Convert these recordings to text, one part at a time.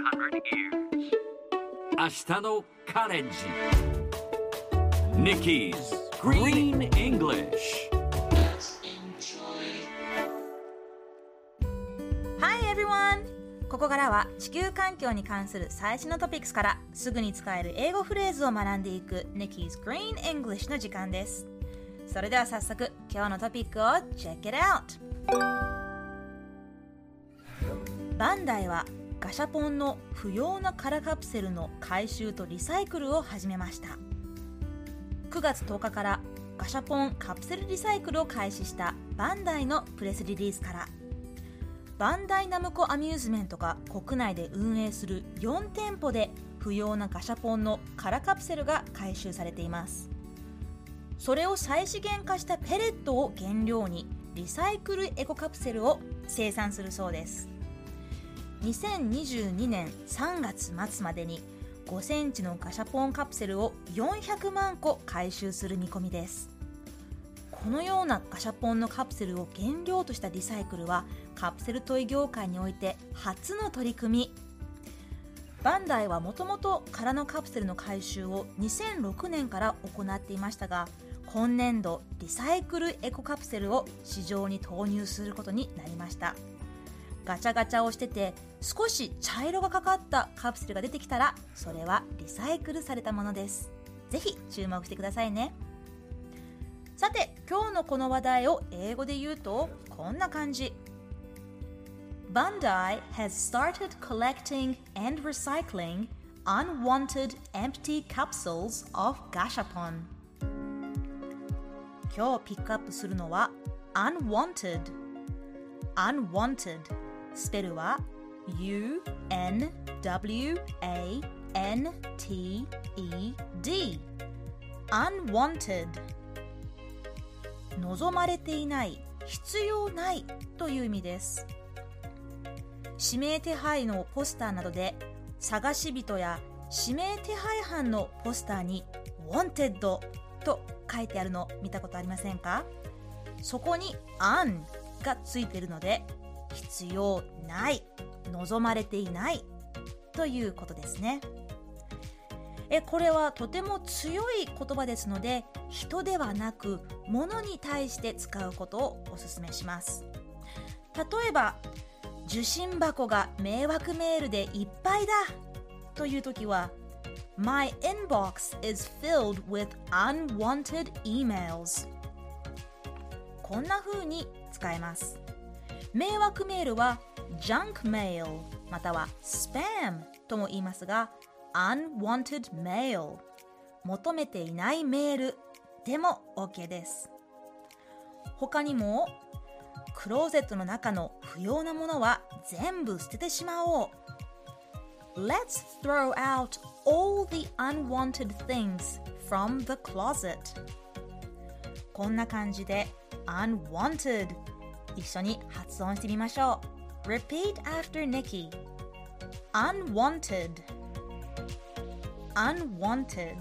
明日のカレンジ Nikki's Green English Hi everyone! ここからは地球環境に関する最新のトピックスからすぐに使える英語フレーズを学んでいく Nikki's Green English の時間です。それでは早速今日のトピックを Check it out! バンダイはガシャポンの不要な空カプセルの回収とリサイクルを始めました。9月10日からガシャポンカプセルリサイクルを開始したバンダイのプレスリリースからバンダイナムコアミューズメントが国内で運営する4店舗で不要なガシャポンの空カプセルが回収されています。それを再資源化したペレットを原料にリサイクルエコカプセルを生産するそうです。2022年3月末までに5センチのガシャポンカプセルを400万個回収する見込みです。このようなガシャポンのカプセルを原料としたリサイクルはカプセルトイ業界において初の取り組み。バンダイはもともと空のカプセルの回収を2006年から行っていましたが、今年度リサイクルエコカプセルを市場に投入することになりました。ガチャガチャをしてて少し茶色がかかったカプセルが出てきたらそれはリサイクルされたものです。ぜひ注目してくださいね。さて今日のこの話題を英語で言うとこんな感じ。 Bandai has started collecting and recycling unwanted empty capsules of Gashapon。 今日ピックアップするのは unwanted。 unwantedスペルは U-N-W-A-N-T-E-D Unwanted 望まれていない、必要ないという意味です。指名手配のポスターなどで探し人や指名手配犯のポスターに Wanted と書いてあるの見たことありませんか？そこに Un がついているので必要ない、望まれていないということですね。これはとても強い言葉ですので、人ではなく物に対して使うことをお勧めします。例えば、受信箱が迷惑メールでいっぱいだというときは My inbox is filled with unwanted emails。 こんな風に使えます。迷惑メールは junk mail または spam とも言いますが unwanted mail 求めていないメールでも OK です。他にもクローゼットの中の不要なものは全部捨ててしまおう。 Let's throw out all the unwanted things from the closet。 こんな感じで unwanted一緒に発音してみましょう。 Repeat after Nikki. Unwanted Unwanted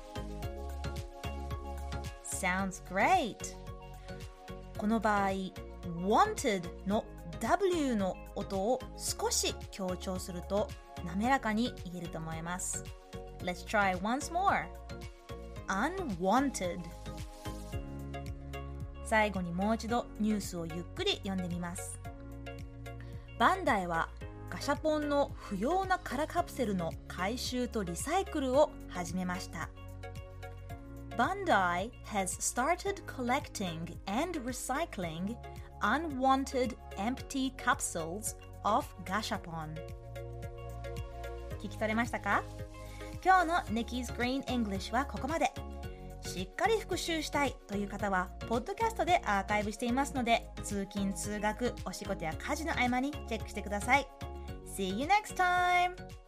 Sounds great. この場合 wanted の W の音を少し強調すると滑らかに言えると思います。 Let's try once more. Unwanted。最後にもう一度ニュースをゆっくり読んでみます。バンダイはガシャポンの不要な空カプセルの回収とリサイクルを始めました。Bandai has started collecting and recycling unwanted empty capsules of Gashapon。 聞き取れましたか？今日の Nikki's Green English はここまで。しっかり復習したいという方はポッドキャストでアーカイブしていますので、通勤通学お仕事や家事の合間にチェックしてください。See you next time!